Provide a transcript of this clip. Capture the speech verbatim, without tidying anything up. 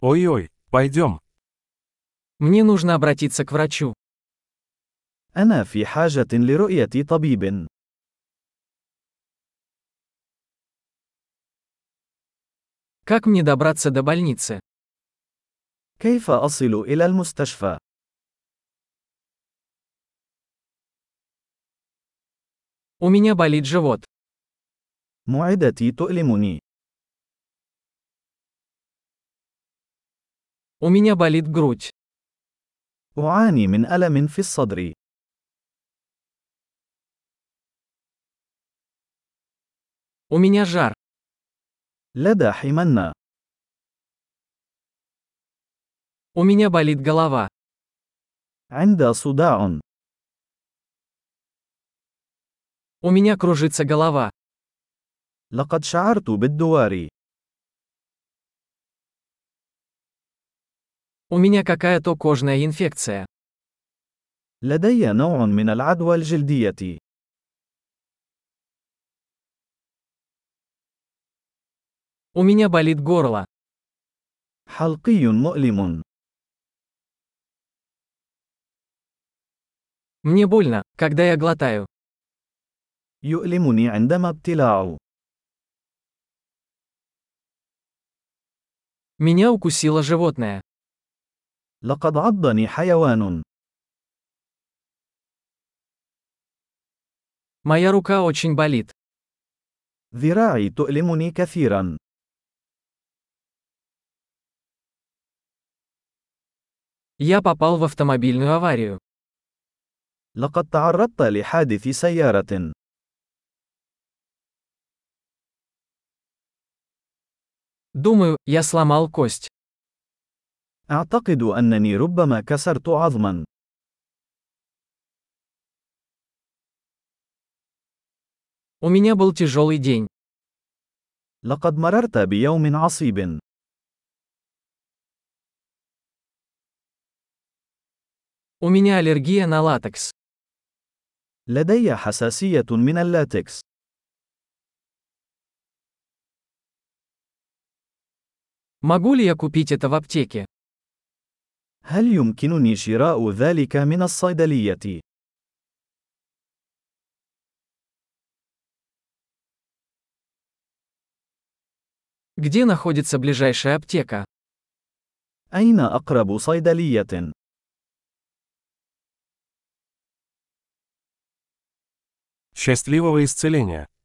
Ой-ой, пойдем. Мне нужно обратиться к врачу. أنا في حاجة لرؤية طبيب. Как мне добраться до больницы? كيف أصل إلى المستشفى؟ У меня болит живот. معدتي تؤلمني. У меня болит грудь. أعاني من ألم في الصدر. У меня жар. لدى حمنة. У меня болит голова. عند صداع. У меня кружится голова. لقد شعرت بالدوار. У меня какая-то кожная инфекция. لدي نوع من العدوى الجلدية. У меня болит горло. حلقي مؤلم. Мне больно, когда я глотаю. يؤلمني عندما ابتلاع. Меня укусило животное. لقد عضني حيوان. Моя рука очень болит. ذراعي تؤلمني كثيرا. Я попал в автомобильную аварию. لقد تعرضت لحادث سيارة. Думаю, я сломал кость. أعتقد أنني ربما كسرت عظما. У меня был тяжелый день. لقد مررت بيوم عصيب. У меня аллергия на латекс. لدي حساسية من اللاتكس. Могу ли я купить это в аптеке? هل يمكنني شراء ذلك من الصيدلية؟ Где находится ближайшая аптека? أين أقرب صيدلية؟ Счастливого исцеления!